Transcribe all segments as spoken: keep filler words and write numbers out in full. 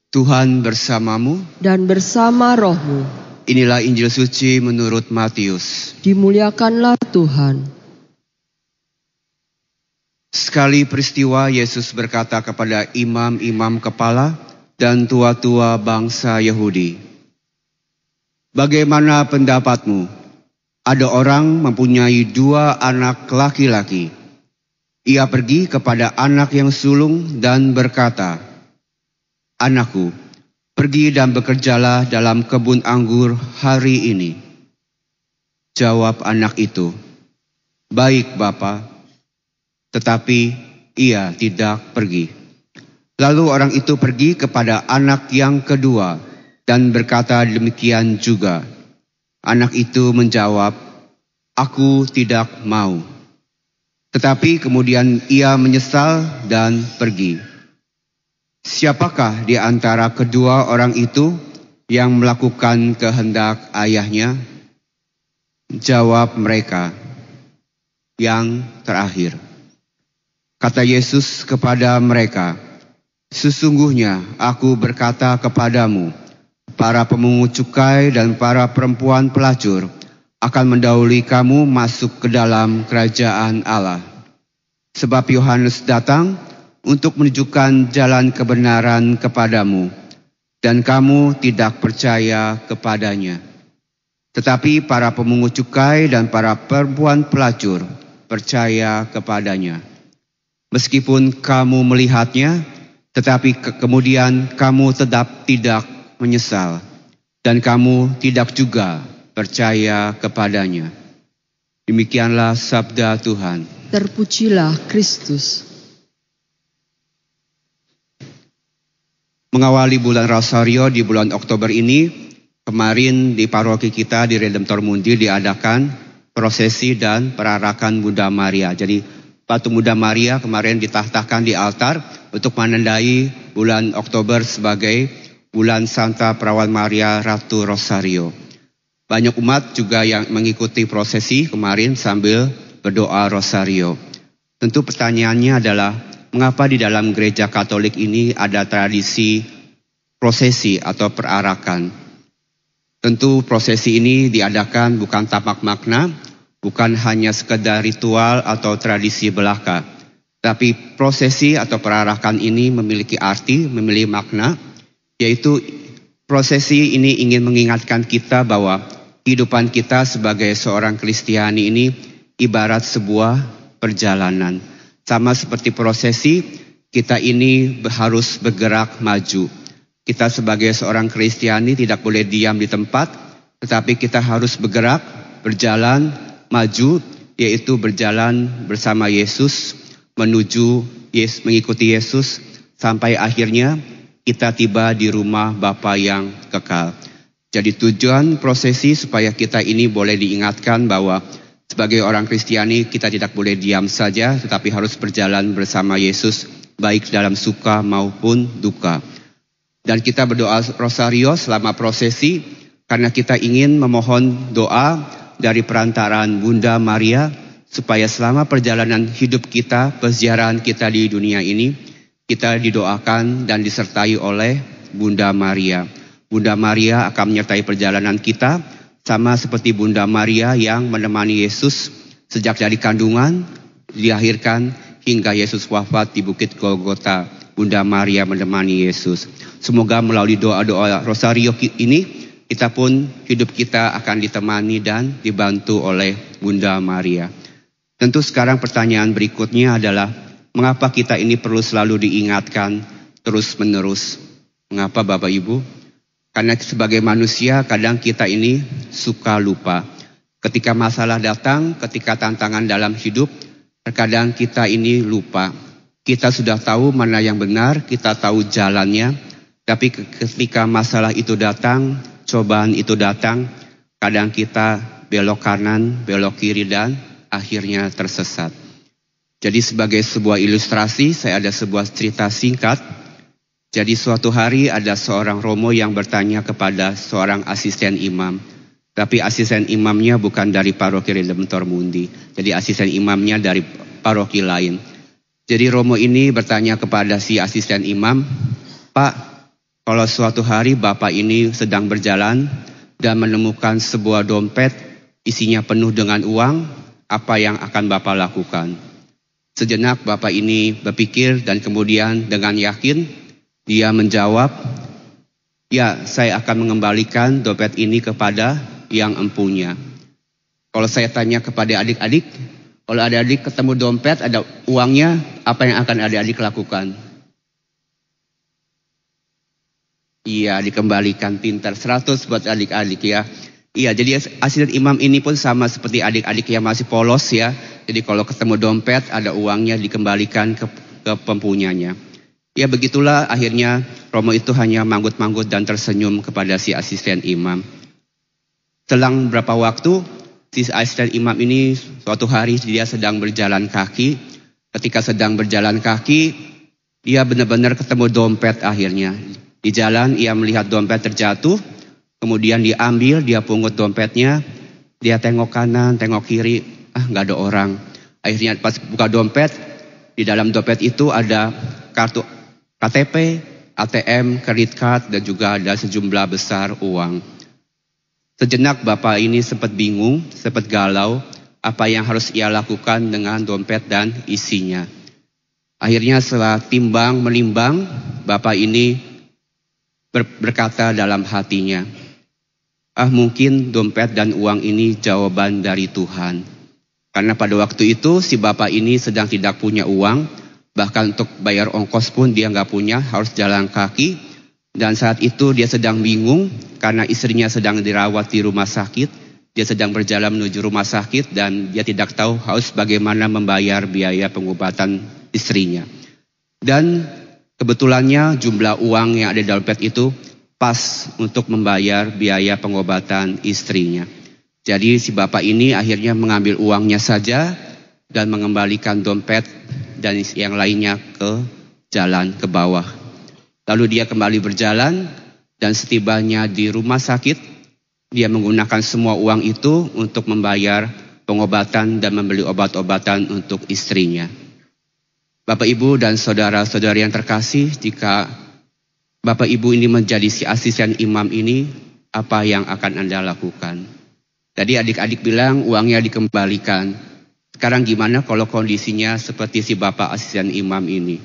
Tuhan bersamamu dan bersama rohmu. Inilah Injil suci menurut Matius. Dimuliakanlah Tuhan. Sekali peristiwa Yesus berkata kepada imam-imam kepala dan tua-tua bangsa Yahudi, "Bagaimana pendapatmu? Ada orang mempunyai dua anak laki-laki. Ia pergi kepada anak yang sulung dan berkata, 'Anakku, pergi dan bekerjalah dalam kebun anggur hari ini.' Jawab anak itu, 'Baik, Bapa,' tetapi ia tidak pergi. Lalu orang itu pergi kepada anak yang kedua dan berkata demikian juga. Anak itu menjawab, 'Aku tidak mau.' Tetapi kemudian ia menyesal dan pergi. Siapakah di antara kedua orang itu yang melakukan kehendak ayahnya?" Jawab mereka, "Yang terakhir." Kata Yesus kepada mereka, "Sesungguhnya aku berkata kepadamu, para pemungut cukai dan para perempuan pelacur akan mendahului kamu masuk ke dalam kerajaan Allah. Sebab Yohanes datang untuk menunjukkan jalan kebenaran kepadamu, dan kamu tidak percaya kepadanya. Tetapi para pemungut cukai dan para perempuan pelacur percaya kepadanya. Meskipun kamu melihatnya, tetapi ke kemudian kamu tetap tidak menyesal, dan kamu tidak juga percaya kepadanya." Demikianlah sabda Tuhan. Terpujilah Kristus. Mengawali bulan Rosario di bulan Oktober ini, kemarin di paroki kita di Redemptor Mundi diadakan prosesi dan perarakan Bunda Maria. Jadi patung Bunda Maria kemarin ditahtakan di altar untuk menandai bulan Oktober sebagai bulan Santa Perawan Maria Ratu Rosario. Banyak umat juga yang mengikuti prosesi kemarin sambil berdoa Rosario. Tentu pertanyaannya adalah, mengapa di dalam gereja Katolik ini ada tradisi prosesi atau perarakan? Tentu prosesi ini diadakan bukan tanpa makna, bukan hanya sekedar ritual atau tradisi belaka. Tapi prosesi atau perarakan ini memiliki arti, memiliki makna, yaitu prosesi ini ingin mengingatkan kita bahwa kehidupan kita sebagai seorang Kristiani ini ibarat sebuah perjalanan. Sama seperti prosesi, kita ini harus bergerak maju. Kita sebagai seorang Kristiani tidak boleh diam di tempat, tetapi kita harus bergerak, berjalan, maju, yaitu berjalan bersama Yesus, menuju Yesus, mengikuti Yesus, sampai akhirnya kita tiba di rumah Bapa yang kekal. Jadi tujuan prosesi supaya kita ini boleh diingatkan bahwa sebagai orang Kristiani kita tidak boleh diam saja, tetapi harus berjalan bersama Yesus, baik dalam suka maupun duka. Dan kita berdoa Rosario selama prosesi karena kita ingin memohon doa dari perantaraan Bunda Maria supaya selama perjalanan hidup kita, perziarahan kita di dunia ini, kita didoakan dan disertai oleh Bunda Maria. Bunda Maria akan menyertai perjalanan kita, sama seperti Bunda Maria yang menemani Yesus sejak dari kandungan, dilahirkan, hingga Yesus wafat di Bukit Golgota. Bunda Maria menemani Yesus. Semoga melalui doa-doa Rosario ini, kita pun hidup kita akan ditemani dan dibantu oleh Bunda Maria. Tentu sekarang pertanyaan berikutnya adalah, mengapa kita ini perlu selalu diingatkan terus-menerus? Mengapa Bapak Ibu? Karena sebagai manusia kadang kita ini suka lupa. Ketika masalah datang, ketika tantangan dalam hidup, terkadang kita ini lupa. Kita sudah tahu mana yang benar, kita tahu jalannya. Tapi ketika masalah itu datang, cobaan itu datang, kadang kita belok kanan, belok kiri dan akhirnya tersesat. Jadi sebagai sebuah ilustrasi, saya ada sebuah cerita singkat. Jadi suatu hari ada seorang romo yang bertanya kepada seorang asisten imam. Tapi asisten imamnya bukan dari paroki Redemptor Mundi. Jadi asisten imamnya dari paroki lain. Jadi romo ini bertanya kepada si asisten imam, "Pak, kalau suatu hari Bapak ini sedang berjalan dan menemukan sebuah dompet isinya penuh dengan uang, apa yang akan Bapak lakukan? Sejenak Bapak ini berpikir dan kemudian dengan yakin dia menjawab, ya, saya akan mengembalikan dompet ini kepada yang empunya. Kalau saya tanya kepada adik-adik, kalau adik-adik ketemu dompet ada uangnya, apa yang akan adik-adik lakukan? Iya, dikembalikan. Pintar. seratus buat adik-adik ya. Iya, jadi asisten imam ini pun sama seperti adik-adik yang masih polos ya. Jadi kalau ketemu dompet ada uangnya dikembalikan ke, ke pempunyanya. Ya begitulah akhirnya Romo itu hanya manggut-manggut dan tersenyum kepada si asisten imam. Selang berapa waktu si asisten imam ini suatu hari dia sedang berjalan kaki. Ketika sedang berjalan kaki dia benar-benar ketemu dompet akhirnya. Di jalan ia melihat dompet terjatuh, kemudian diambil, dia pungut dompetnya, dia tengok kanan, tengok kiri, ah nggak ada orang. Akhirnya pas buka dompet, di dalam dompet itu ada kartu K T P, A T M, credit card, dan juga ada sejumlah besar uang. Sejenak Bapak ini sempat bingung, sempat galau, apa yang harus ia lakukan dengan dompet dan isinya. Akhirnya setelah timbang menimbang, Bapak ini berkata dalam hatinya, ah mungkin dompet dan uang ini jawaban dari Tuhan. Karena pada waktu itu si bapak ini sedang tidak punya uang, bahkan untuk bayar ongkos pun dia nggak punya, harus jalan kaki. Dan saat itu dia sedang bingung karena istrinya sedang dirawat di rumah sakit. Dia sedang berjalan menuju rumah sakit dan dia tidak tahu harus bagaimana membayar biaya pengobatan istrinya. Dan kebetulannya jumlah uang yang ada di dompet itu pas untuk membayar biaya pengobatan istrinya. Jadi si bapak ini akhirnya mengambil uangnya saja dan mengembalikan dompet dan yang lainnya ke jalan ke bawah. Lalu dia kembali berjalan dan setibanya di rumah sakit, dia menggunakan semua uang itu untuk membayar pengobatan dan membeli obat-obatan untuk istrinya. Bapak, Ibu, dan saudara-saudari yang terkasih, jika Bapak Ibu ini menjadi si asisten imam ini, apa yang akan Anda lakukan? Tadi adik-adik bilang uangnya dikembalikan. Sekarang gimana kalau kondisinya seperti si Bapak asisten imam ini?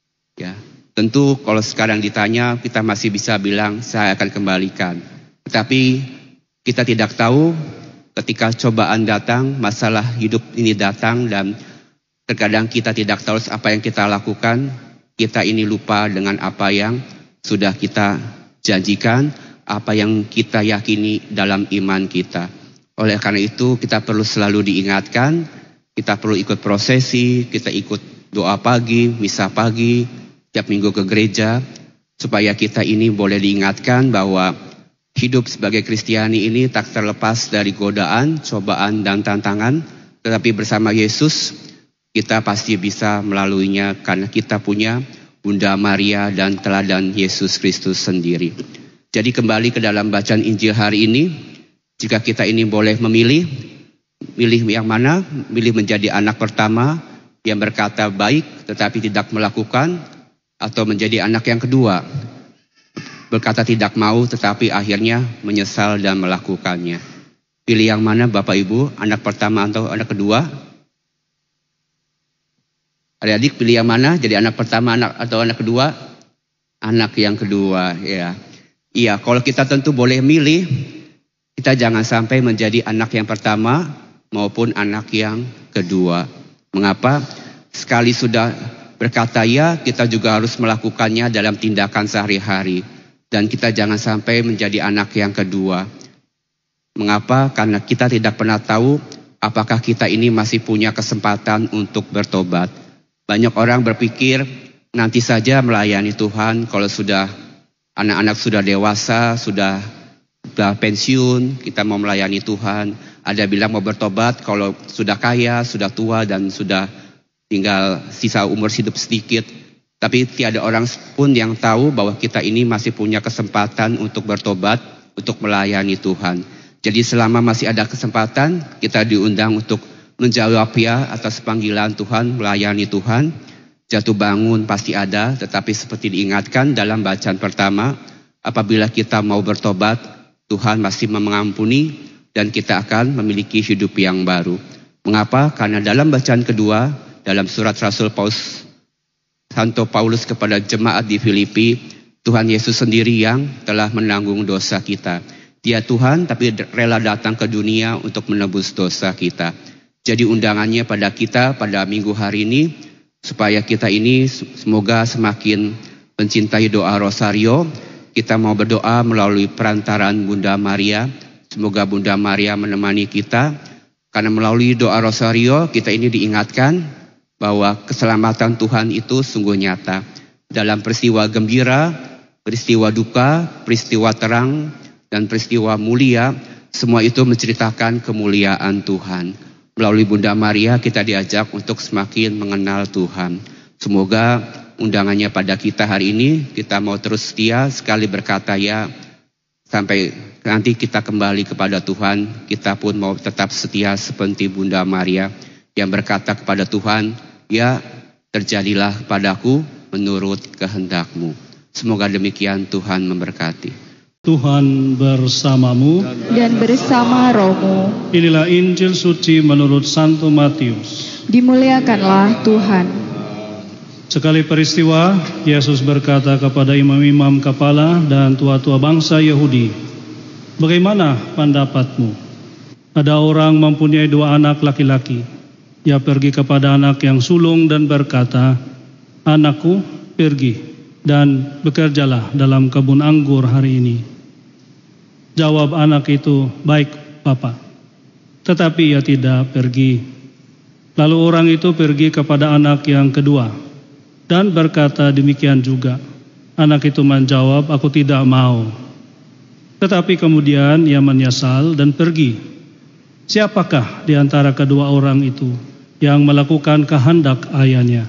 Ya, tentu kalau sekarang ditanya kita masih bisa bilang saya akan kembalikan. Tetapi kita tidak tahu ketika cobaan datang, masalah hidup ini datang dan terkadang kita tidak tahu apa yang kita lakukan, kita ini lupa dengan apa yang sudah kita janjikan, apa yang kita yakini dalam iman kita. Oleh karena itu kita perlu selalu diingatkan, kita perlu ikut prosesi, kita ikut doa pagi, misa pagi, tiap minggu ke gereja, supaya kita ini boleh diingatkan bahwa hidup sebagai Kristiani ini tak terlepas dari godaan, cobaan, dan tantangan, tetapi bersama Yesus, kita pasti bisa melaluinya karena kita punya Bunda Maria dan teladan Yesus Kristus sendiri. Jadi kembali ke dalam bacaan Injil hari ini, jika kita ini boleh memilih, milih yang mana? Milih menjadi anak pertama yang berkata baik tetapi tidak melakukan, atau menjadi anak yang kedua, berkata tidak mau tetapi akhirnya menyesal dan melakukannya. Pilih yang mana Bapak Ibu, anak pertama atau anak kedua? Adik-adik pilih yang mana? Jadi anak pertama anak atau anak kedua? Anak yang kedua, ya. Iya, kalau kita tentu boleh milih, kita jangan sampai menjadi anak yang pertama maupun anak yang kedua. Mengapa? Sekali sudah berkata ya, kita juga harus melakukannya dalam tindakan sehari-hari. Dan kita jangan sampai menjadi anak yang kedua. Mengapa? Karena kita tidak pernah tahu apakah kita ini masih punya kesempatan untuk bertobat. Banyak orang berpikir nanti saja melayani Tuhan kalau sudah anak-anak sudah dewasa, sudah, sudah pensiun, kita mau melayani Tuhan. Ada bilang mau bertobat kalau sudah kaya, sudah tua dan sudah tinggal sisa umur hidup sedikit. Tapi tiada orang pun yang tahu bahwa kita ini masih punya kesempatan untuk bertobat, untuk melayani Tuhan. Jadi selama masih ada kesempatan, kita diundang untuk menjawab ya atas panggilan Tuhan, melayani Tuhan. Jatuh bangun pasti ada, tetapi seperti diingatkan dalam bacaan pertama, apabila kita mau bertobat, Tuhan masih mengampuni dan kita akan memiliki hidup yang baru. Mengapa? Karena dalam bacaan kedua, dalam surat Rasul Paulus, Santo Paulus kepada jemaat di Filipi, Tuhan Yesus sendiri yang telah menanggung dosa kita. Dia Tuhan tapi rela datang ke dunia untuk menebus dosa kita. Jadi undangannya pada kita pada minggu hari ini, supaya kita ini semoga semakin mencintai doa Rosario. Kita mau berdoa melalui perantaran Bunda Maria. Semoga Bunda Maria menemani kita. Karena melalui doa Rosario kita ini diingatkan bahwa keselamatan Tuhan itu sungguh nyata. Dalam peristiwa gembira, peristiwa duka, peristiwa terang, dan peristiwa mulia, semua itu menceritakan kemuliaan Tuhan. Melalui Bunda Maria kita diajak untuk semakin mengenal Tuhan. Semoga undangannya pada kita hari ini, kita mau terus setia sekali berkata ya, sampai nanti kita kembali kepada Tuhan, kita pun mau tetap setia seperti Bunda Maria yang berkata kepada Tuhan, ya terjadilah padaku menurut kehendak-Mu. Semoga demikian, Tuhan memberkati. Tuhan bersamamu dan bersama rohmu. Inilah Injil suci menurut Santo Matius. Dimuliakanlah Tuhan. Sekali peristiwa, Yesus berkata kepada imam-imam kepala dan tua-tua bangsa Yahudi, "Bagaimana pendapatmu? Ada orang mempunyai dua anak laki-laki. Ia pergi kepada anak yang sulung dan berkata, 'Anakku, pergi dan bekerjalah dalam kebun anggur hari ini.' Jawab anak itu, 'Baik, Bapa.' Tetapi ia tidak pergi. Lalu orang itu pergi kepada anak yang kedua dan berkata demikian juga. Anak itu menjawab, 'Aku tidak mau.' Tetapi kemudian ia menyesal dan pergi. Siapakah di antara kedua orang itu yang melakukan kehendak ayahnya?"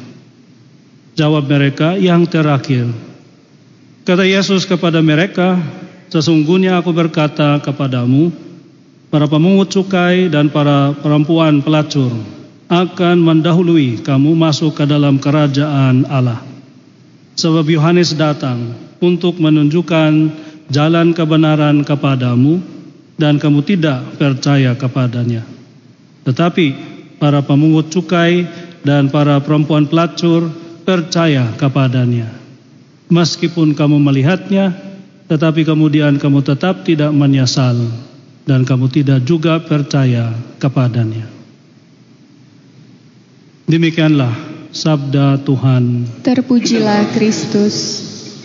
Jawab mereka, "Yang terakhir." Kata Yesus kepada mereka, "Sesungguhnya aku berkata kepadamu, para pemungut cukai dan para perempuan pelacur akan mendahului kamu masuk ke dalam kerajaan Allah. Sebab Yohanes datang untuk menunjukkan jalan kebenaran kepadamu dan kamu tidak percaya kepadanya. Tetapi para pemungut cukai dan para perempuan pelacur percaya kepadanya. Meskipun kamu melihatnya, tetapi kemudian kamu tetap tidak menyesal dan kamu tidak juga percaya kepadanya." Demikianlah sabda Tuhan. Terpujilah Kristus.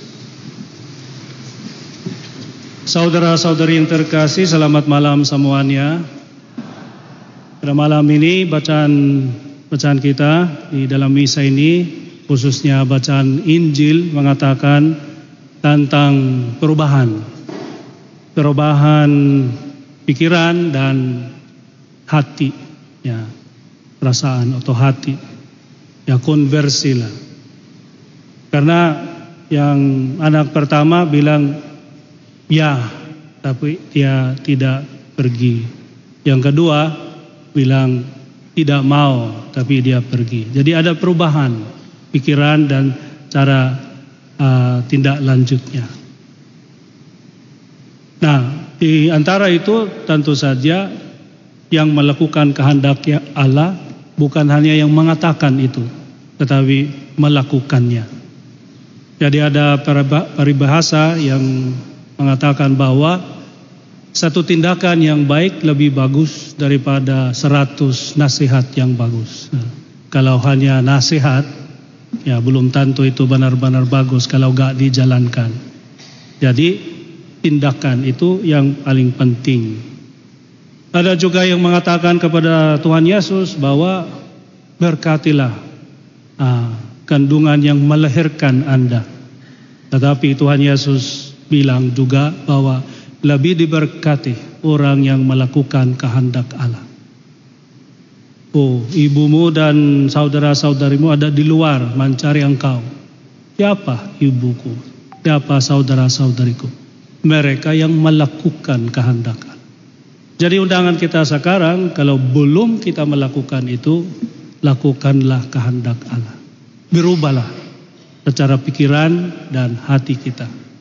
Saudara-saudari yang terkasih, selamat malam semuanya. Pada malam ini bacaan bacaan kita di dalam misa ini, khususnya bacaan Injil, mengatakan tentang perubahan. Perubahan pikiran dan hati, ya. Perasaan atau hati, ya, konversi lah. Karena yang anak pertama bilang ya, tapi dia tidak pergi. Yang kedua bilang tidak mau, tapi dia pergi. Jadi ada perubahan pikiran dan cara uh, tindak lanjutnya. Nah, di antara itu tentu saja yang melakukan kehendak Allah bukan hanya yang mengatakan itu, tetapi melakukannya. Jadi ada peribahasa yang mengatakan bahwa satu tindakan yang baik lebih bagus daripada seratus nasihat yang bagus. Nah, kalau hanya nasihat, ya belum tentu itu benar-benar bagus kalau gak dijalankan. Jadi tindakan itu yang paling penting. Ada juga yang mengatakan kepada Tuhan Yesus bahwa berkatilah ah, kandungan yang melahirkan Anda. Tetapi Tuhan Yesus bilang juga bahwa lebih diberkati orang yang melakukan kehendak Allah. Oh, ibumu dan saudara-saudarimu ada di luar mencari engkau. Siapa ibuku? Siapa saudara-saudariku? Mereka yang melakukan kehendak Allah. Jadi undangan kita sekarang, kalau belum kita melakukan itu, lakukanlah kehendak Allah. Berubahlah secara pikiran dan hati kita.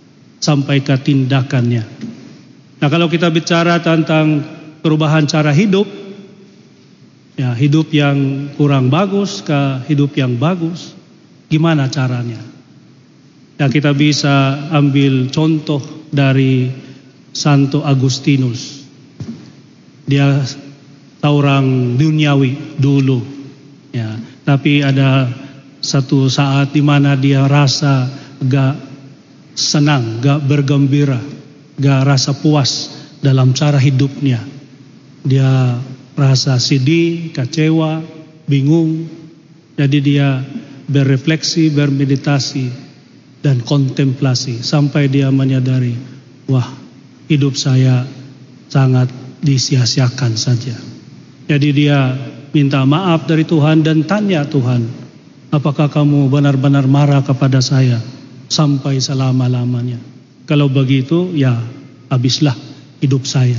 sampai ke tindakannya. Nah, kalau kita bicara tentang perubahan cara hidup, ya hidup yang kurang bagus ke hidup yang bagus, gimana caranya? Ya, kita bisa ambil contoh dari Santo Agustinus. Dia orang duniawi dulu, ya. Tapi ada satu saat di mana dia rasa gak senang, gak bergembira, gak rasa puas dalam cara hidupnya. Dia rasa sedih, kecewa, bingung. Jadi dia berrefleksi, bermeditasi, dan kontemplasi sampai dia menyadari, wah, hidup saya sangat disia-siakan saja. Jadi dia minta maaf dari Tuhan dan tanya Tuhan, apakah kamu benar-benar marah kepada saya sampai selama-lamanya? Kalau begitu, ya habislah hidup saya.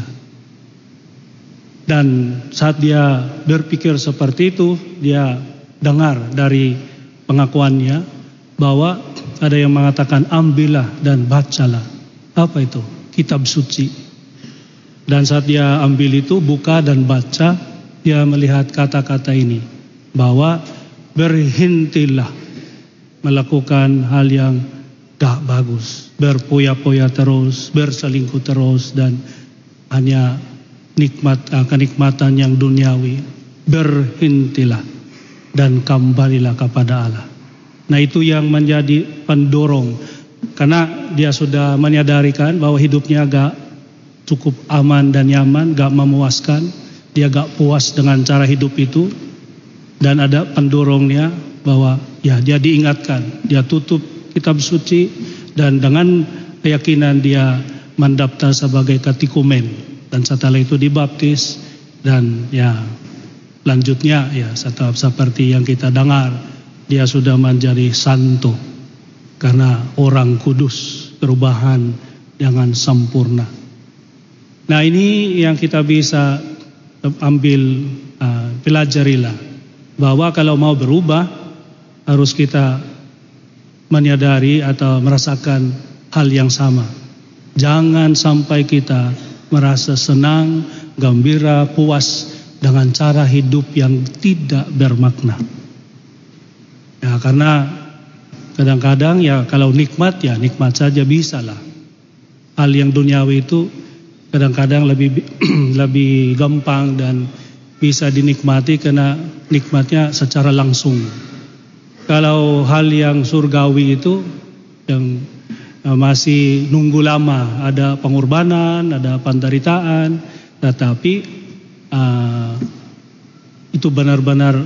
Dan saat dia berpikir seperti itu, dia dengar dari pengakuannya bahwa ada yang mengatakan ambillah dan bacalah. Apa itu? Kitab suci. Dan saat dia ambil itu, buka dan baca, dia melihat kata-kata ini, bahwa berhentilah melakukan hal yang gak bagus, berpoya-poya terus, berselingkuh terus, dan hanya nikmat kenikmatan yang duniawi. Berhentilah dan kembalilah kepada Allah. Nah, itu yang menjadi pendorong, karena dia sudah menyadarikan bahwa hidupnya gak cukup aman dan nyaman, gak memuaskan, dia gak puas dengan cara hidup itu, dan ada pendorongnya bahwa ya dia diingatkan, dia tutup kitab suci, dan dengan keyakinan dia mendaftar sebagai katikumen, dan setelah itu dibaptis, dan ya lanjutnya ya seperti yang kita dengar, dia sudah menjadi santo karena orang kudus, perubahan dengan sempurna. Nah, ini yang kita bisa ambil, uh, pelajarilah, bahwa kalau mau berubah harus kita menyadari atau merasakan hal yang sama. Jangan sampai kita merasa senang, gembira, puas dengan cara hidup yang tidak bermakna. Ya, karena kadang-kadang ya kalau nikmat ya nikmat saja bisa lah. Hal yang duniawi itu kadang-kadang lebih lebih gampang dan bisa dinikmati karena nikmatnya secara langsung. Kalau hal yang surgawi itu yang masih nunggu lama, ada pengorbanan, ada penderitaan, tetapi uh, itu benar-benar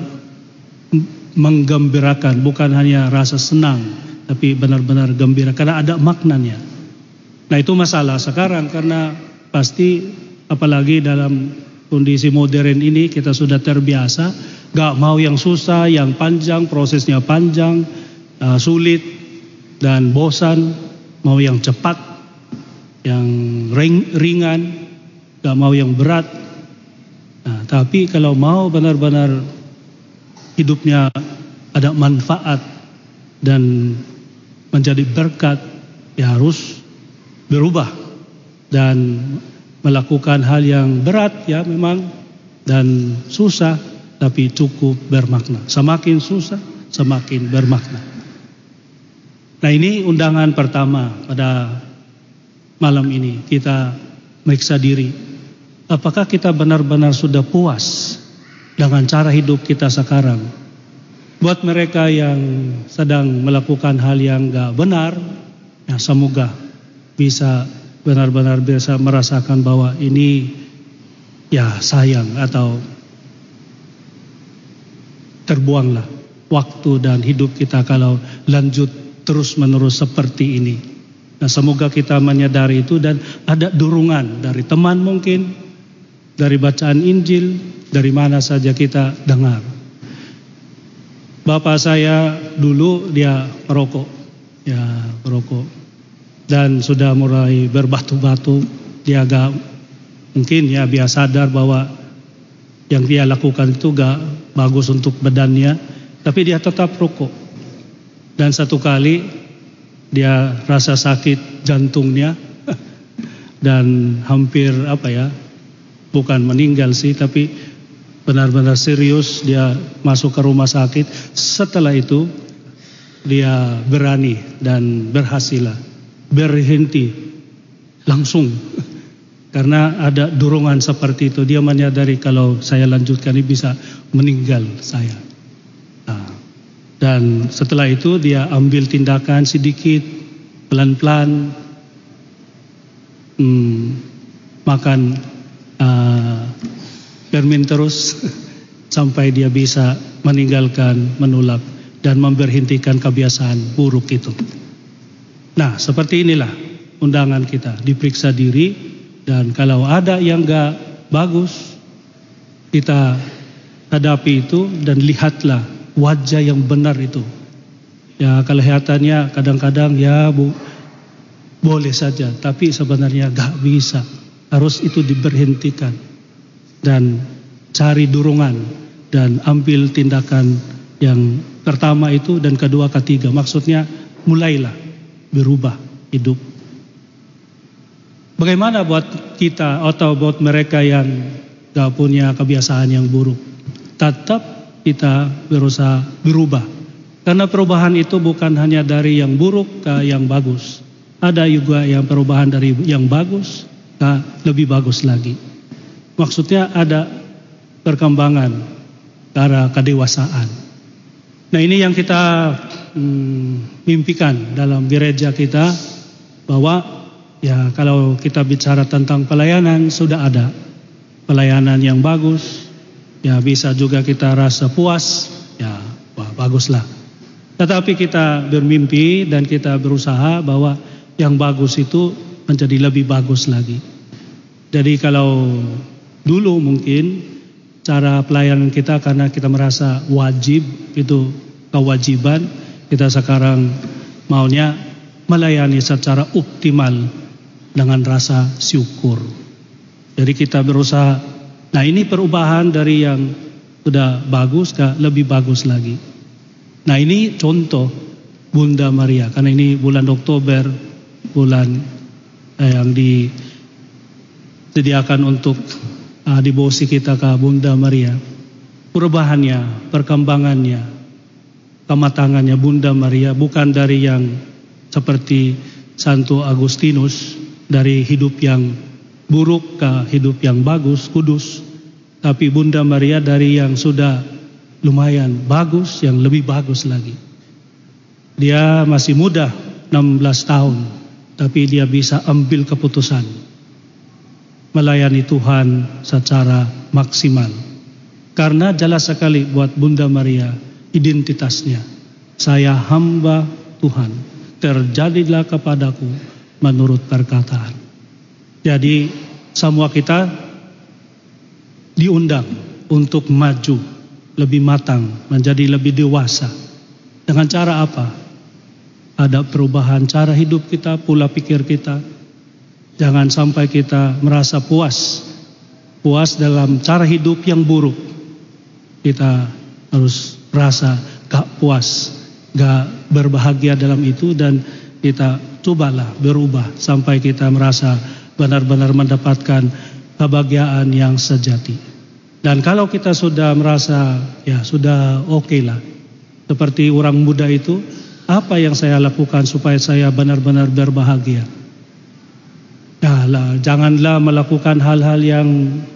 menggembirakan, bukan hanya rasa senang, tapi benar-benar gembira karena ada maknanya. Nah, itu masalah sekarang, karena pasti apalagi dalam kondisi modern ini kita sudah terbiasa, gak mau yang susah, yang panjang, prosesnya panjang, uh, sulit dan bosan, mau yang cepat, yang ring, ringan, gak mau yang berat. Nah, tapi kalau mau benar-benar hidupnya ada manfaat dan menjadi berkat, ya harus berubah dan melakukan hal yang berat ya memang dan susah, tapi cukup bermakna. Semakin susah, semakin bermakna. Nah, ini undangan pertama pada malam ini, kita meriksa diri. Apakah kita benar-benar sudah puas dengan cara hidup kita sekarang? Buat mereka yang sedang melakukan hal yang gak benar, ya semoga bisa benar-benar bisa merasakan bahwa ini ya sayang atau terbuanglah waktu dan hidup kita kalau lanjut terus-menerus seperti ini. Nah, semoga kita menyadari itu dan ada dorongan dari teman mungkin, dari bacaan Injil, dari mana saja kita dengar. Bapak saya dulu dia perokok, ya perokok, dan sudah mulai berbatu-batu. Dia agak mungkin ya dia sadar bahwa yang dia lakukan itu gak bagus untuk badannya, tapi dia tetap rokok. Dan satu kali dia rasa sakit jantungnya dan hampir apa ya, bukan meninggal sih, tapi benar-benar serius dia masuk ke rumah sakit. Setelah itu dia berani dan berhasil berhenti langsung karena ada dorongan seperti itu. Dia menyadari kalau saya lanjutkan ini bisa meninggal saya. Nah, dan setelah itu dia ambil tindakan sedikit, pelan-pelan, hmm, makan uh, permen terus sampai dia bisa meninggalkan menolak dan memberhentikan kebiasaan buruk itu. Nah, seperti inilah undangan kita, diperiksa diri, dan kalau ada yang gak bagus, kita hadapi itu dan lihatlah wajah yang benar itu. Ya, kelihatannya kadang-kadang ya bu, boleh saja, tapi sebenarnya gak bisa. Harus itu diberhentikan dan cari dorongan dan ambil tindakan yang pertama itu dan kedua ketiga. Maksudnya mulailah berubah hidup. Bagaimana buat kita atau buat mereka yang gak punya kebiasaan yang buruk? Tetap kita berusaha berubah. Karena perubahan itu bukan hanya dari yang buruk ke yang bagus. Ada juga yang perubahan dari yang bagus ke lebih bagus lagi. Maksudnya ada perkembangan ke arah kedewasaan. Nah, ini yang kita hmm, mimpikan dalam gereja kita, bahwa ya kalau kita bicara tentang pelayanan, sudah ada pelayanan yang bagus, ya bisa juga kita rasa puas, ya wah, baguslah. Tetapi kita bermimpi dan kita berusaha bahwa yang bagus itu menjadi lebih bagus lagi. Jadi kalau dulu mungkin cara pelayanan kita karena kita merasa wajib, itu kewajiban, kita sekarang maunya melayani secara optimal dengan rasa syukur. Jadi kita berusaha, nah ini perubahan dari yang sudah bagus ke lebih bagus lagi. Nah, ini contoh Bunda Maria, karena ini bulan Oktober, bulan eh, yang disediakan untuk uh, devosi kita ke Bunda Maria. Perubahannya, perkembangannya, kematangannya Bunda Maria bukan dari yang seperti Santo Agustinus, dari hidup yang buruk ke hidup yang bagus, kudus. Tapi Bunda Maria dari yang sudah lumayan bagus, yang lebih bagus lagi. Dia masih muda, enam belas tahun, tapi dia bisa ambil keputusan melayani Tuhan secara maksimal. Karena jelas sekali buat Bunda Maria identitasnya, saya hamba Tuhan, terjadilah kepadaku menurut perkataan. Jadi semua kita diundang untuk maju lebih matang, menjadi lebih dewasa. Dengan cara apa? Ada perubahan cara hidup kita, pola pikir kita. Jangan sampai kita merasa puas, puas dalam cara hidup yang buruk. Kita harus merasa gak puas, gak berbahagia dalam itu, dan kita cobalah berubah sampai kita merasa benar-benar mendapatkan kebahagiaan yang sejati. Dan kalau kita sudah merasa ya sudah oke okay lah, seperti orang muda itu, apa yang saya lakukan supaya saya benar-benar berbahagia? Ya lah, janganlah melakukan hal-hal yang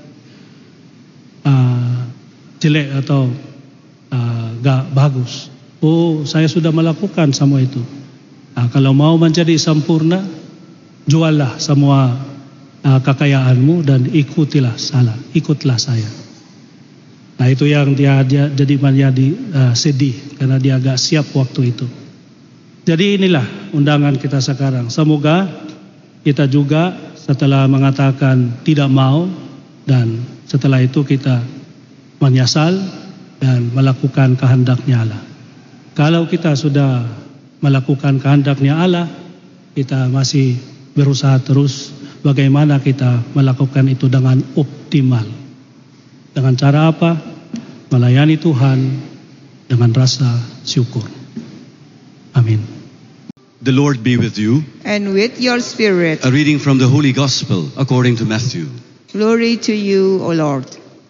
uh, jelek atau uh, gak bagus. Oh, saya sudah melakukan semua itu. Nah, kalau mau menjadi sempurna, juallah semua uh, kekayaanmu dan ikutilah salah, ikutlah saya. Nah, itu yang dia, dia jadi menjadi uh, sedih karena dia agak siap waktu itu. Jadi inilah undangan kita sekarang. Semoga kita juga setelah mengatakan tidak mau, dan setelah itu kita menyesal dan melakukan kehendaknya Allah. Kalau kita sudah melakukan kehendaknya Allah, kita masih berusaha terus bagaimana kita melakukan itu dengan optimal. Dengan cara apa? Melayani Tuhan dengan rasa syukur. Amin. The Lord be with you. And with your spirit. A reading from the Holy Gospel according to Matthew. Glory to you, O Lord.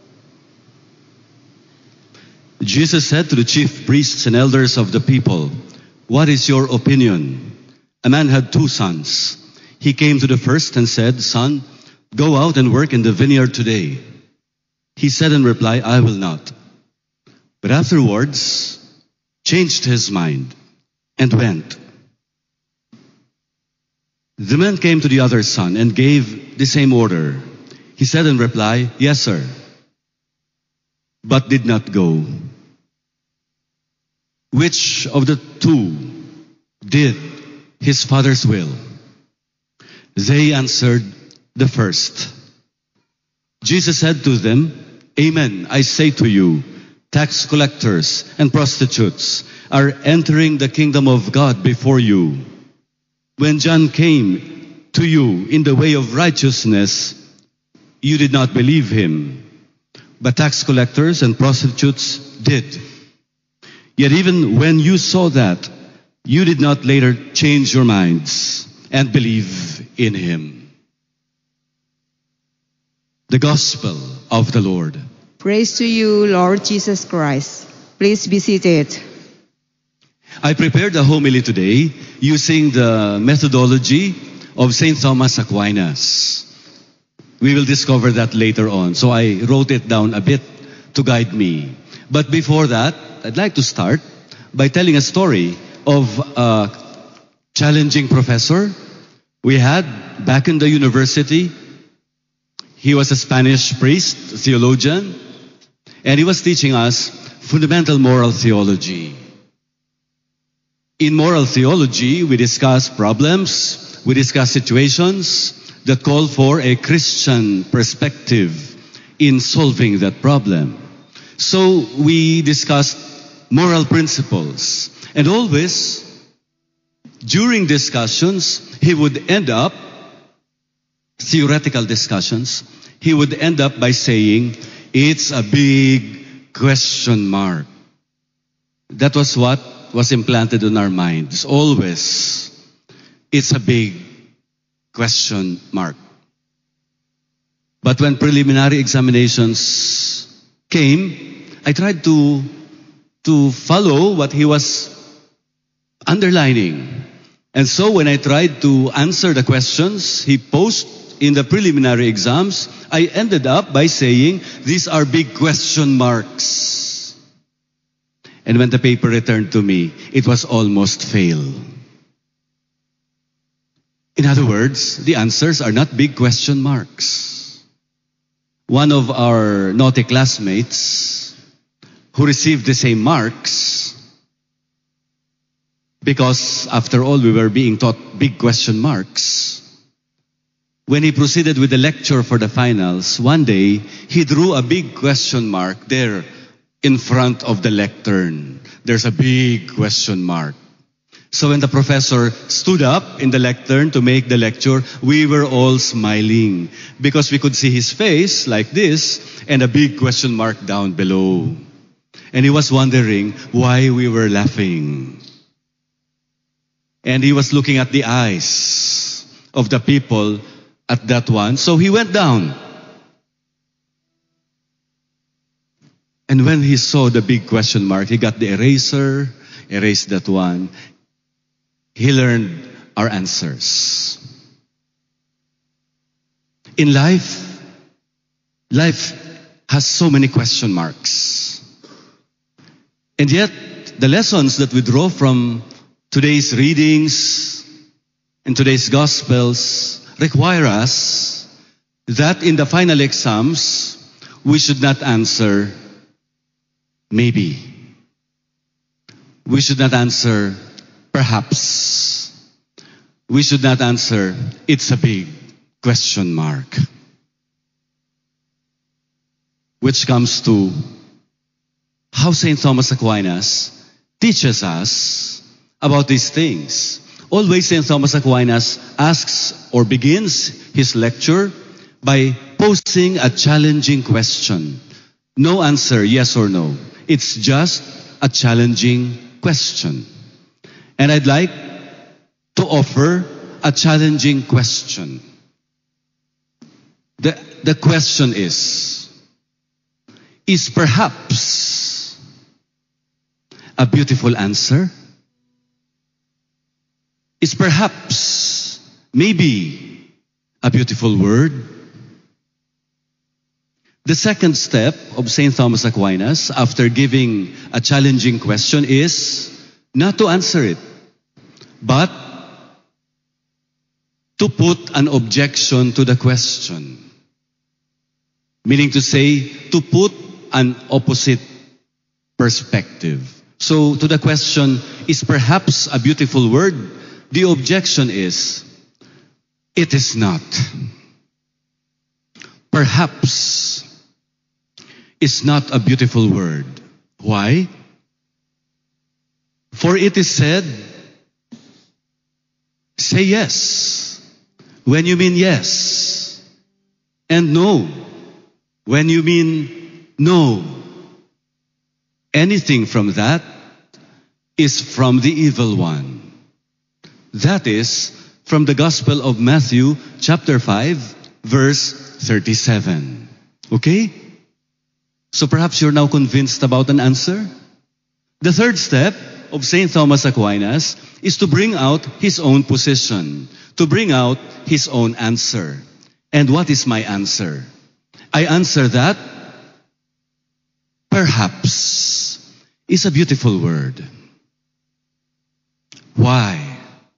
Jesus said to the chief priests and elders of the people, "What is your opinion? A man had two sons. He came to the first and said, 'Son, go out and work in the vineyard today.' He said in reply, 'I will not.' But afterwards, changed his mind and went. The man came to the other son and gave the same order. He said in reply, 'Yes, sir,' but did not go. Which of the two did his father's will?" They answered, "The first." Jesus said to them, "Amen, I say to you, tax collectors and prostitutes are entering the kingdom of God before you. When John came to you in the way of righteousness, you did not believe him, but tax collectors and prostitutes did. Yet even when you saw that, you did not later change your minds and believe in him." The Gospel of the Lord. Praise to you, Lord Jesus Christ. Please be seated. I prepared a homily today using the methodology of Saint Thomas Aquinas. We will discover that later on. So I wrote it down a bit to guide me. But before that, I'd like to start by telling a story of a challenging professor we had back in the university. He was a Spanish priest, theologian, and he was teaching us fundamental moral theology. In moral theology, we discuss problems, we discuss situations that call for a Christian perspective in solving that problem. So we discussed moral principles, and always during discussions, he would end up, theoretical discussions, he would end up by saying, "It's a big question mark." That was what was implanted in our minds. Always, it's a big question mark. But when preliminary examinations came, I tried to, to follow what he was underlining. And so when I tried to answer the questions he posed in the preliminary exams, I ended up by saying, "These are big question marks." And when the paper returned to me, it was almost fail. In other words, the answers are not big question marks. One of our naughty classmates who received the same marks, because after all we were being taught big question marks, when he proceeded with the lecture for the finals, one day he drew a big question mark there in front of the lectern. There's a big question mark. So when the professor stood up in the lectern to make the lecture, we were all smiling because we could see his face like this and a big question mark down below. And he was wondering why we were laughing. And he was looking at the eyes of the people at that one. So he went down. And when he saw the big question mark, he got the eraser, erased that one. He learned our answers. In life, life has so many question marks. And yet, the lessons that we draw from today's readings and today's Gospels require us that in the final exams, we should not answer maybe. We should not answer perhaps. We should not answer it's a big question mark. Which comes to how Saint Thomas Aquinas teaches us about these things. Always Saint Thomas Aquinas asks or begins his lecture by posing a challenging question. No answer, yes or no. It's just a challenging question. And I'd like to offer a challenging question. The, the question is, is perhaps a beautiful answer? Is perhaps, maybe, a beautiful word? The second step of Saint Thomas Aquinas, after giving a challenging question, is not to answer it, but to put an objection to the question. Meaning to say, to put an opposite perspective. So, to the question, is perhaps a beautiful word? The objection is, it is not. Perhaps is not a beautiful word. Why? For it is said, say yes when you mean yes, and no when you mean no. Anything from that is from the evil one. That is from the Gospel of Matthew, chapter five, verse thirty-seven. Okay? So perhaps you're now convinced about an answer? The third step of Saint Thomas Aquinas is to bring out his own position, to bring out his own answer. And what is my answer? I answer that perhaps is a beautiful word. Why?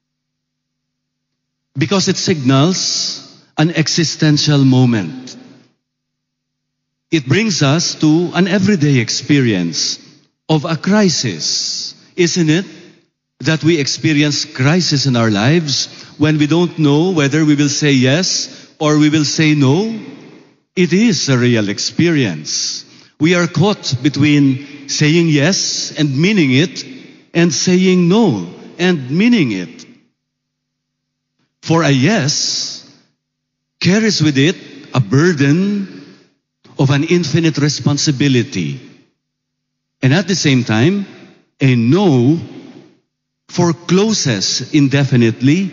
Because it signals an existential moment. It brings us to an everyday experience of a crisis, isn't it? That we experience crisis in our lives when we don't know whether we will say yes or we will say no. It is a real experience. We are caught between saying yes and meaning it and saying no and meaning it. For a yes carries with it a burden of an infinite responsibility. And at the same time, a no forecloses indefinitely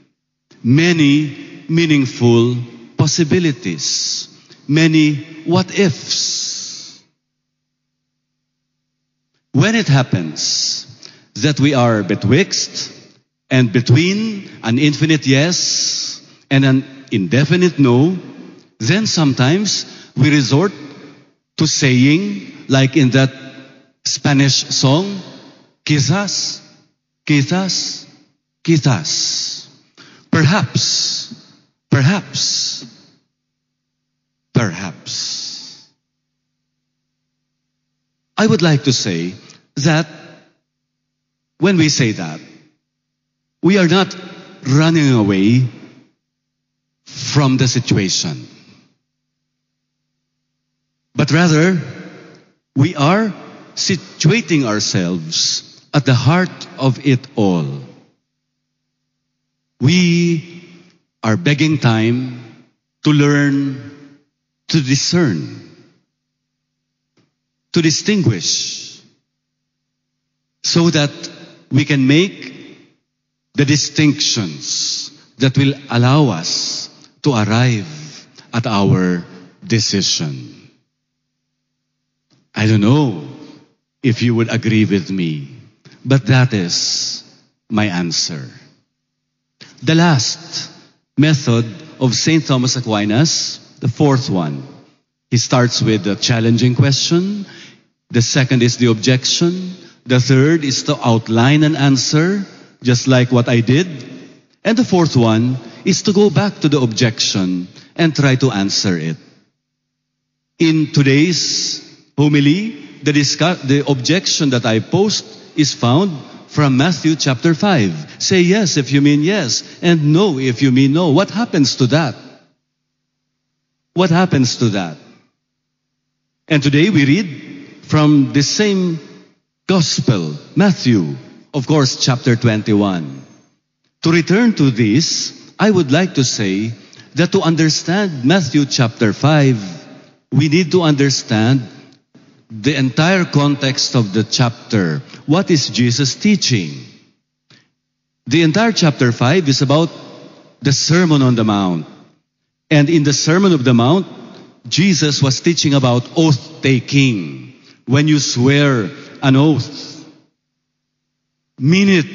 many meaningful possibilities, many what ifs. When it happens that we are betwixt and between an infinite yes and an indefinite no, then sometimes we resort to saying, like in that Spanish song, quizás, quizás, quizás. Perhaps, perhaps, perhaps. I would like to say that when we say that, we are not running away from the situation, but rather we are situating ourselves at the heart of it all. We are begging time to learn to discern, to distinguish, so that we can make the distinctions that will allow us to arrive at our decision. I don't know if you would agree with me, but that is my answer. The last method of Saint Thomas Aquinas, the fourth one, he starts with the challenging question. The second is the objection. The third is to outline an answer, just like what I did. And the fourth one is to go back to the objection and try to answer it. In today's homily, the, discuss- the objection that I post is found from Matthew chapter five. Say yes if you mean yes, and no if you mean no. What happens to that? What happens to that? And today we read from the same Gospel, Matthew, of course, chapter twenty-one. To return to this, I would like to say that to understand Matthew chapter five, we need to understand the entire context of the chapter. What is Jesus teaching? The entire chapter five is about the Sermon on the Mount. And in the Sermon of the Mount, Jesus was teaching about oath-taking. When you swear an oath, mean it.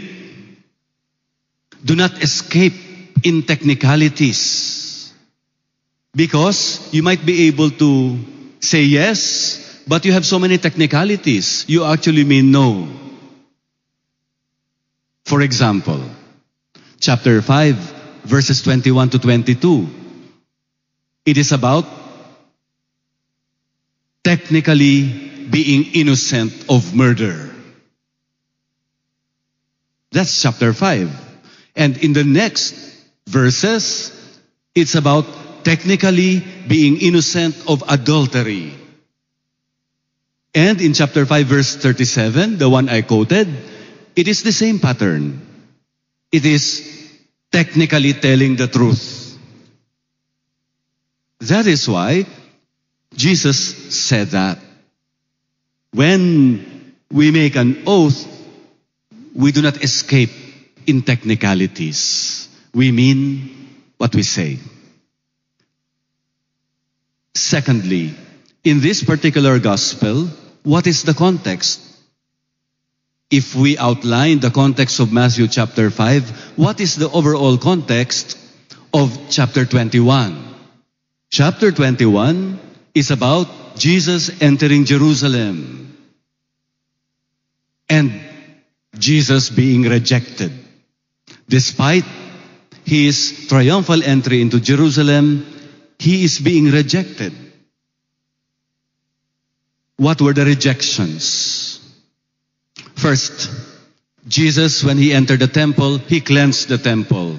Do not escape in technicalities. Because you might be able to say yes, but you have so many technicalities. You actually mean no. For example, chapter five, verses twenty-one to twenty-two. It is about technically being innocent of murder. That's chapter five. And in the next verses, it's about technically being innocent of adultery. And in chapter five, verse thirty-seven, the one I quoted, it is the same pattern. It is technically telling the truth. That is why Jesus said that when we make an oath, we do not escape in technicalities. We mean what we say. Secondly, in this particular gospel, what is the context? If we outline the context of Matthew chapter five, what is the overall context of chapter twenty-one? Chapter twenty-one is about Jesus entering Jerusalem and Jesus being rejected. Despite his triumphal entry into Jerusalem, he is being rejected. What were the rejections? First, Jesus, when he entered the temple, he cleansed the temple.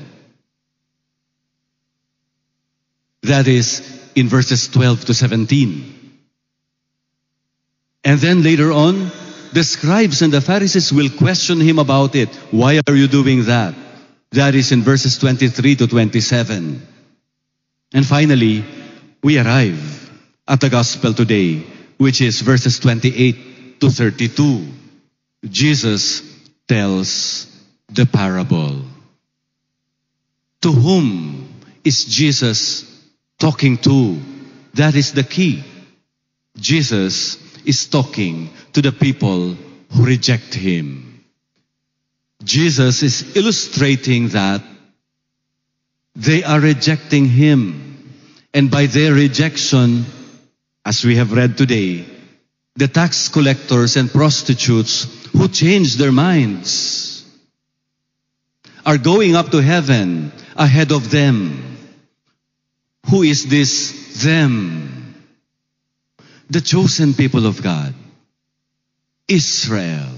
That is in verses twelve to seventeen. And then later on, the scribes and the Pharisees will question him about it. Why are you doing that? That is in verses twenty-three to twenty-seven. And finally, we arrive at the gospel today, which is verses twenty-eight to thirty-two. Jesus tells the parable. To whom is Jesus talking to? That is the key. Jesus is talking to the people who reject him. Jesus is illustrating that they are rejecting him. And by their rejection, as we have read today, the tax collectors and prostitutes who changed their minds are going up to heaven ahead of them. Who is this them? The chosen people of God, Israel,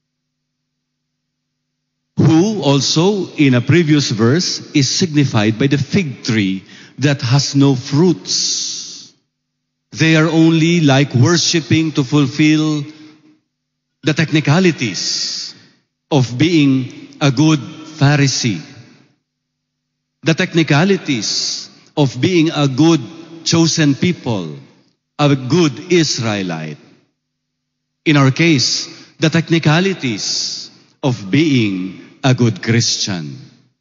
who also in a previous verse is signified by the fig tree that has no fruits. They are only like worshiping to fulfill the technicalities of being a good Pharisee, the technicalities of being a good chosen people, a good Israelite. In our case, the technicalities of being a good Christian.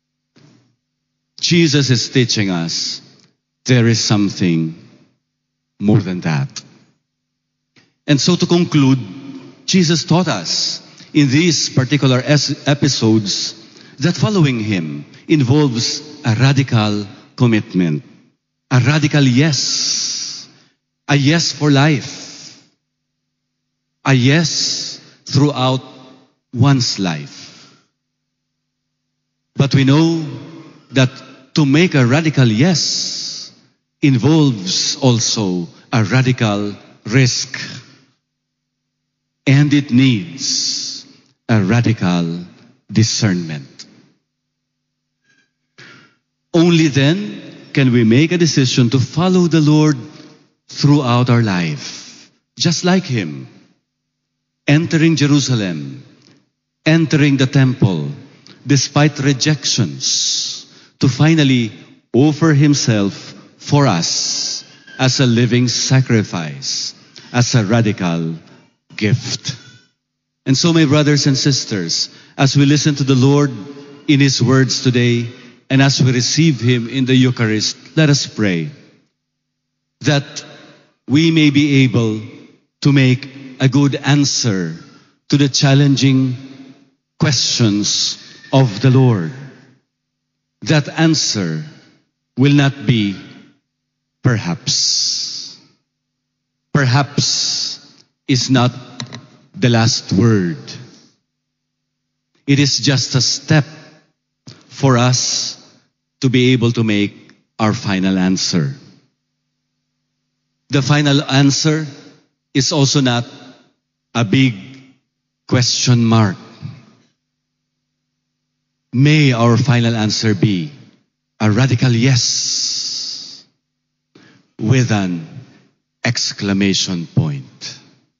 Jesus is teaching us there is something more than that. And so to conclude, Jesus taught us in these particular es- episodes that following him involves a radical commitment, a radical yes, a yes for life, a yes throughout one's life. But we know that to make a radical yes involves also a radical risk. And it needs a radical discernment. Only then can we make a decision to follow the Lord throughout our life, just like him, entering Jerusalem, entering the temple, despite rejections, to finally offer himself for us as a living sacrifice, as a radical gift. And so, my brothers and sisters, as we listen to the Lord in His words today, and as we receive Him in the Eucharist, let us pray that we may be able to make a good answer to the challenging questions of the Lord. That answer will not be perhaps. Perhaps is not the last word. It is just a step for us to be able to make our final answer. The final answer is also not a big question mark. May our final answer be a radical yes with an exclamation point.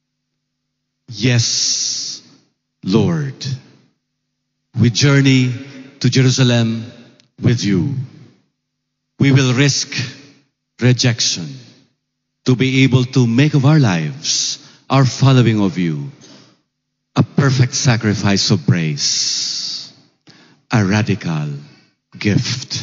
Yes, Lord. We journey to Jerusalem with you. We will risk rejection to be able to make of our lives, our following of you, a perfect sacrifice of praise, a radical gift.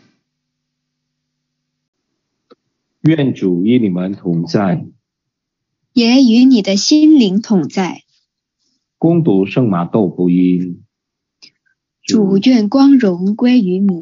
愿主与你们同在。 也与你的心灵同在。 恭读圣马窦福音。 主愿光荣归于你。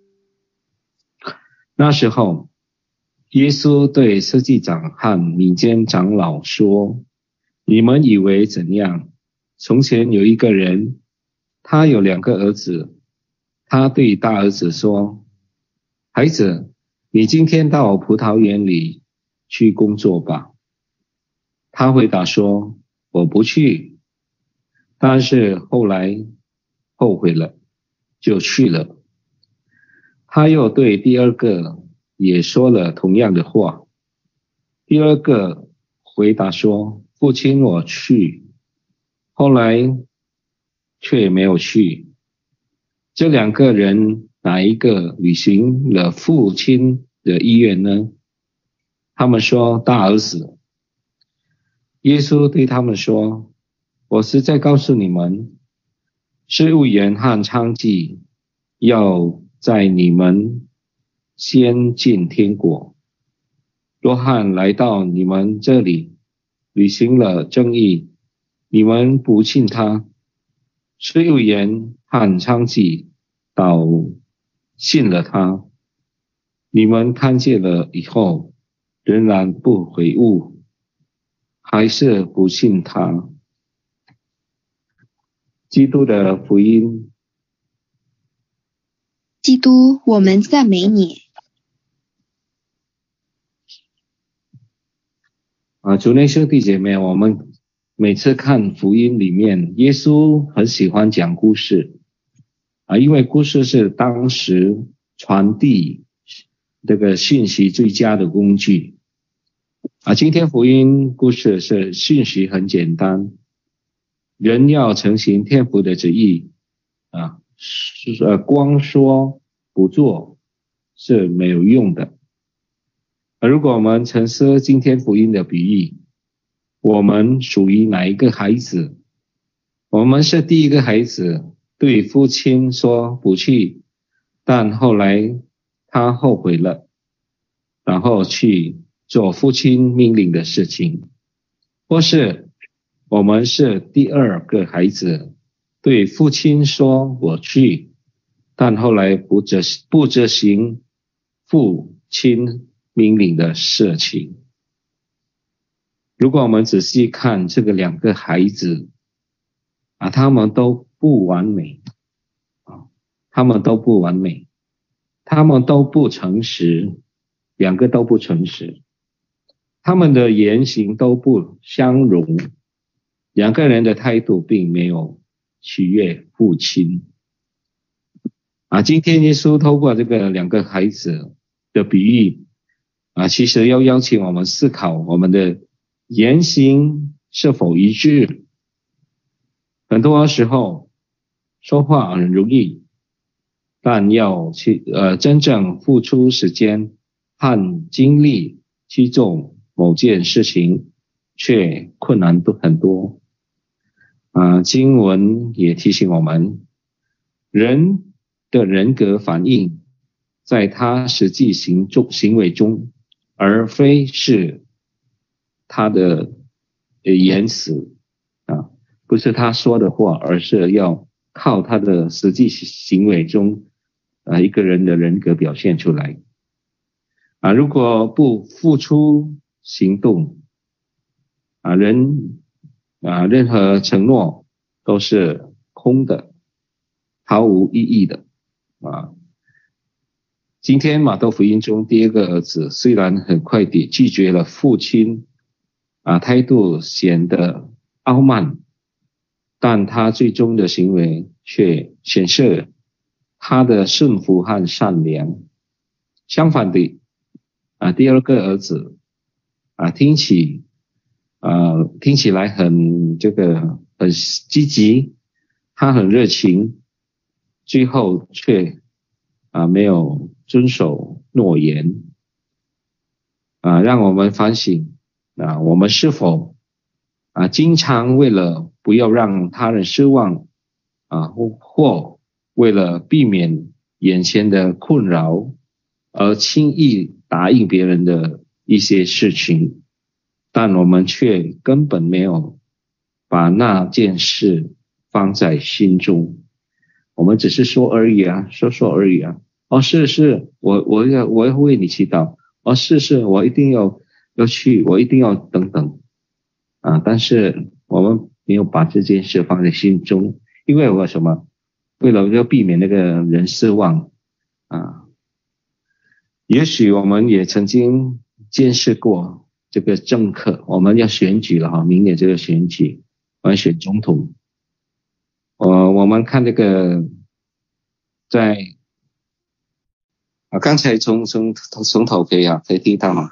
那时候，耶稣对司祭长和民间长老说：“你们以为怎样？从前有一个人，他有两个儿子。他对大儿子说：‘孩子，你今天到葡萄园里去工作吧。’他回答说：‘我不去。’但是后来后悔了，就去了。他又对第二个也说了同样的话。第二个回答说：‘父亲，我去。’后来却没有去。这两个人哪一个履行了父亲的意愿呢？他们说大儿子。耶稣对他们说：“我实在告诉你们，事务员和娼妓要在你们先进天国。若翰来到你们这里，履行了正义，你们不信他；事务员和娼妓倒信了他。你们看见了以后，仍然不悔悟，还是不信他。”基督的福音。 基督，我们赞美你。 啊，主内兄弟姐妹，我们每次看福音里面，耶稣很喜欢讲故事啊，因为故事是当时传递这个信息最佳的工具啊。今天福音故事是信息很简单，人要承行天父的旨意啊，是呃光说不做是没有用的。而如果我们沉思今天福音的比喻，我们属于哪一个孩子？我们是第一个孩子，对父亲说不去，但后来他后悔了，然后去做父亲命令的事情。或是我们是第二个孩子，对父亲说我去，但后来不执不执行父亲命令的事情。如果我们仔细看这个两个孩子啊，他们都不完美啊，他们都不完美，他们都不诚实，两个都不诚实，他们的言行都不相容，两个人的态度并没有取悦父亲啊。今天耶稣透过这个两个孩子的比喻啊，其实要邀请我们思考我们的言行是否一致。很多时候说话很容易，但要去呃真正付出时间和精力去做某件事情，却困难都很多。啊，经文也提醒我们，人的人格反映在他实际行中行为中，而非是他的言辞啊，不是他说的话，而是要靠他的实际行为中啊一个人的人格表现出来啊。如果不付出行动啊，人啊任何承诺都是空的，毫无意义的啊。今天马太福音中第二个儿子虽然很快地拒绝了父亲啊，态度显得傲慢，但他最终的行为却显示他的顺服和善良。相反的啊，第二个儿子啊，听起啊听起来很这个很积极，他很热情，最后却啊没有遵守诺言啊，让我们反省啊，我们是否啊经常为了不要让他人失望啊，或或为了避免眼前的困扰而轻易答应别人的一些事情，但我们却根本没有把那件事放在心中，我们只是说而已啊，说说而已啊。哦，是是，我我要我要为你祈祷。哦，是是，我一定要要去，我一定要等等啊。但是我们没有把这件事放在心中，因为我什么？为了要避免那个人失望啊。也许我们也曾经见识过这个政客，我们要选举了哈，明年这个选举，我们选总统。呃，我们看这个在。啊，刚才从从从头可以啊，可以听到吗？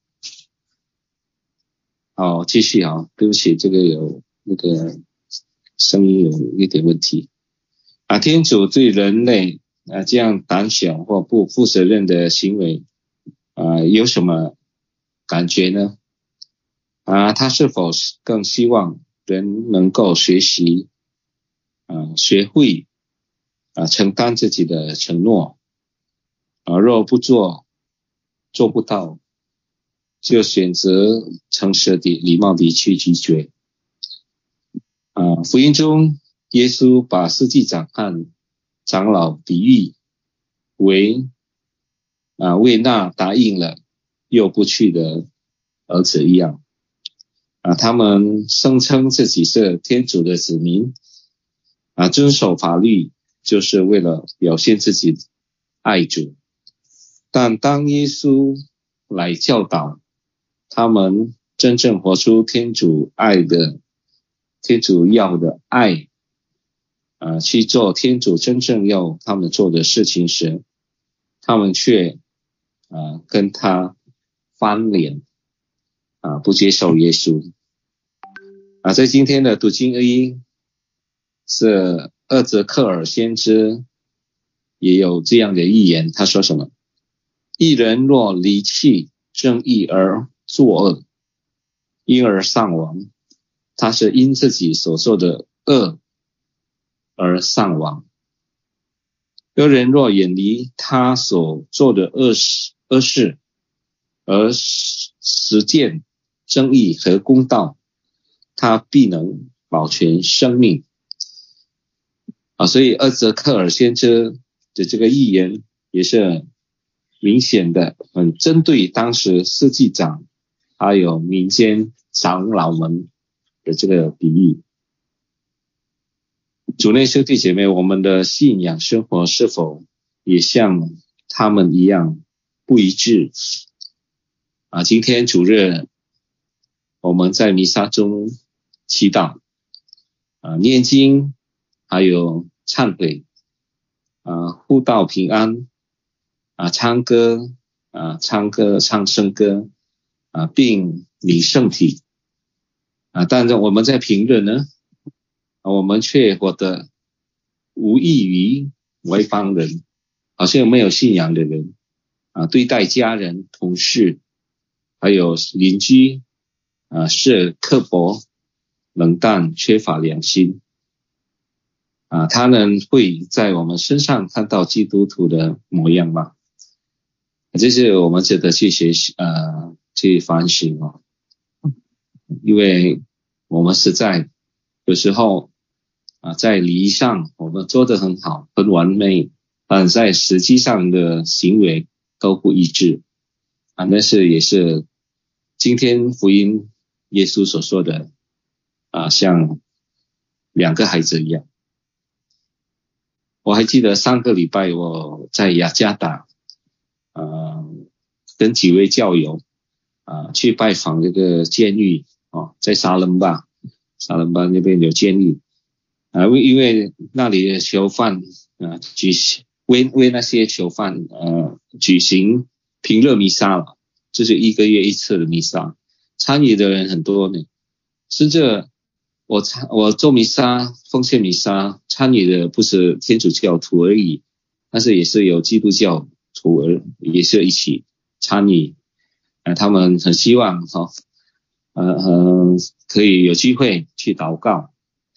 好，继续啊，对不起，这个有那个声音有一点问题啊。天主对人类啊这样胆小或不负责任的行为啊有什么感觉呢？啊，他是否更希望人能够学习啊，学会啊承担自己的承诺？啊，若不做，做不到，就选择诚实的、礼貌的去拒绝。啊，福音中，耶稣把司祭长和长老比喻为啊为那答应了又不去的儿子一样。啊，他们声称自己是天主的子民，啊，遵守法律就是为了表现自己爱主。但当耶稣来教导他们真正活出天主爱的天主要的爱啊，去做天主真正要他们做的事情时，他们却啊跟他翻脸啊，不接受耶稣啊。在今天的读经一是厄泽克尔先知也有这样的预言，他说什么？一人若离弃正义而作恶，因而丧亡，他是因自己所做的恶而丧亡。个人若远离他所做的恶事恶事而实践正义和公道，他必能保全生命啊。所以厄泽克尔先知的这个预言也是明显的很针对当时司祭长还有民间长老们的这个比喻。主内兄弟姐妹，我们的信仰生活是否也像他们一样不一致啊？今天主日我们在弥撒中祈祷啊、念经，还有忏悔啊、互道平安啊，唱歌啊，唱歌唱圣歌啊，并领圣体啊。但是我们在平日呢，啊、我们却活得无异于外邦人，好像没有信仰的人啊，对待家人、同事还有邻居啊，是刻薄、冷淡、缺乏良心啊，他们会在我们身上看到基督徒的模样吗？这是我们值得去学习呃去反省哦，因为我们实在有时候啊在礼仪上我们做得很好很完美，但在实际上的行为都不一致啊，但是也是今天福音耶稣所说的啊，像两个孩子一样。我还记得上个礼拜我在雅加达呃，跟几位教友啊、呃、去拜访这个监狱哦，在沙伦巴沙伦巴那边有监狱啊、呃，因为那里的囚犯啊、呃、举行为为那些囚犯呃举行平日弥撒了，就是一个月一次的弥撒，参与的人很多呢，甚至我参我做弥撒奉献弥撒参与的不是天主教徒而已，但是也是有基督教徒而也是一起参与，呃，他们很希望哈、哦，呃呃可以有机会去祷告，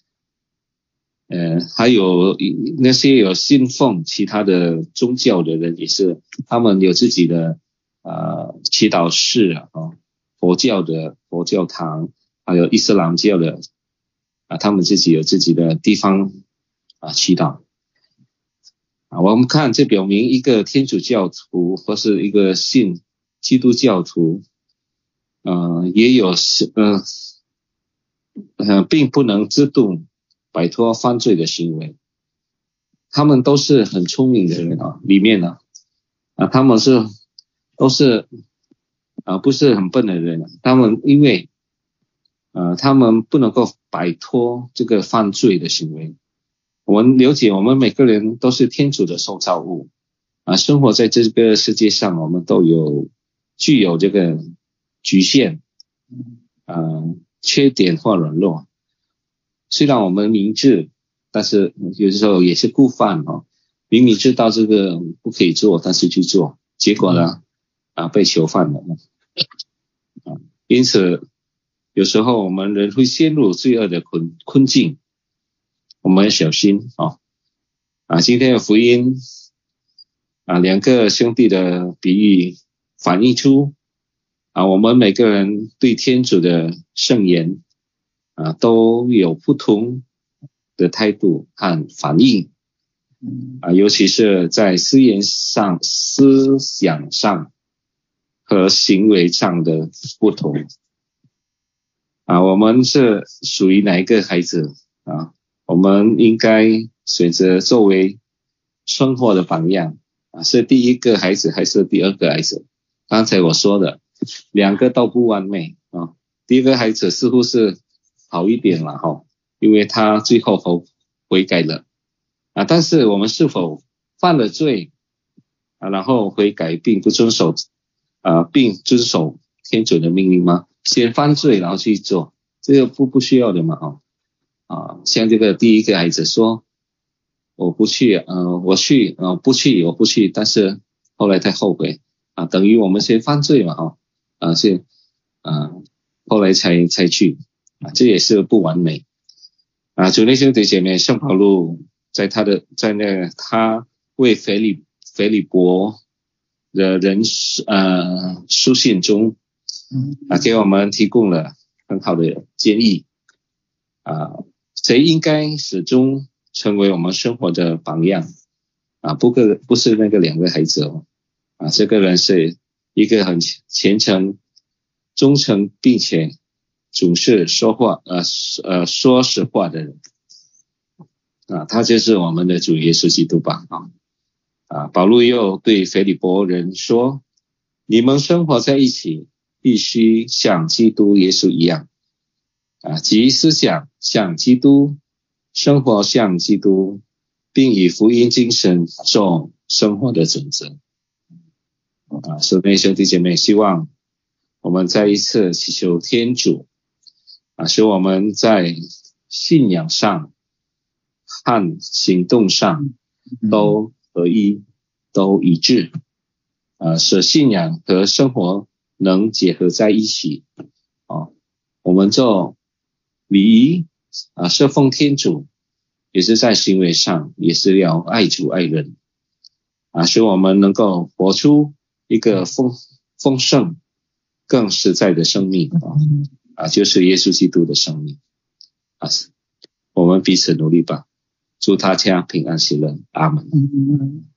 呃，还有那些有信奉其他的宗教的人也是，他们有自己的呃祈祷室啊、哦，佛教的佛教堂，还有伊斯兰教的啊，他们自己有自己的地方啊祈祷。啊，我们看这表明一个天主教徒或是一个信基督教徒，呃，也有呃呃，并不能自动摆脱犯罪的行为。他们都是很聪明的人啊，里面呢，啊，他们是都是啊，不是很笨的人。他们因为呃，他们不能够摆脱这个犯罪的行为。我们了解我们每个人都是天主的受造物啊，生活在这个世界上，我们都有具有这个局限呃缺点或软弱，虽然我们明智，但是有的时候也是故犯哦，明明知道这个不可以做，但是去做，结果呢啊被囚犯了啊，因此有时候我们人会陷入罪恶的困困境，我们要小心啊！啊，今天的福音啊，两个兄弟的比喻反映出啊，我们每个人对天主的圣言啊，都有不同的态度和反应啊，尤其是在思言上、思想上和行为上的不同啊，我们是属于哪一个孩子啊？我们应该选择作为生活的榜样啊，是第一个孩子还是第二个孩子？刚才我说的两个都不完美啊，第一个孩子似乎是好一点了哈，因为他最后悔悔改了啊，但是我们是否犯了罪啊，然后悔改并不遵守啊，并遵守天主的命令吗？先犯罪然后去做，这个不不需要的嘛哈。啊，像这个第一个孩子说我不去呃我去呃不去我不去，但是后来他后悔啊，等于我们先犯罪嘛哈啊是啊后来才才去啊，这也是不完美啊。主内兄弟姐妹，圣保禄在他的在那个他为腓利腓利伯的人呃书信中啊给我们提供了很好的建议啊。谁应该始终成为我们生活的榜样啊？不个不是那个两个孩子哦啊，这个人是一个很虔诚、忠诚，并且总是说话呃呃说实话的人啊，他就是我们的主耶稣基督吧啊啊！保禄又对腓利伯人说：“你们生活在一起，必须像基督耶稣一样。”啊，即思想像基督，生活像基督，并以福音精神做生活的准则。啊，所以兄弟姐妹，希望我们再一次祈求天主啊，使我们在信仰上和行动上都合一，都一致啊，使信仰和生活能结合在一起啊，我们做礼仪啊，侍奉天主也是在行为上，也是要爱主爱人啊，使我们能够活出一个丰丰盛、更实在的生命啊，啊，就是耶稣基督的生命啊。我们彼此努力吧，祝大家平安喜乐，阿门。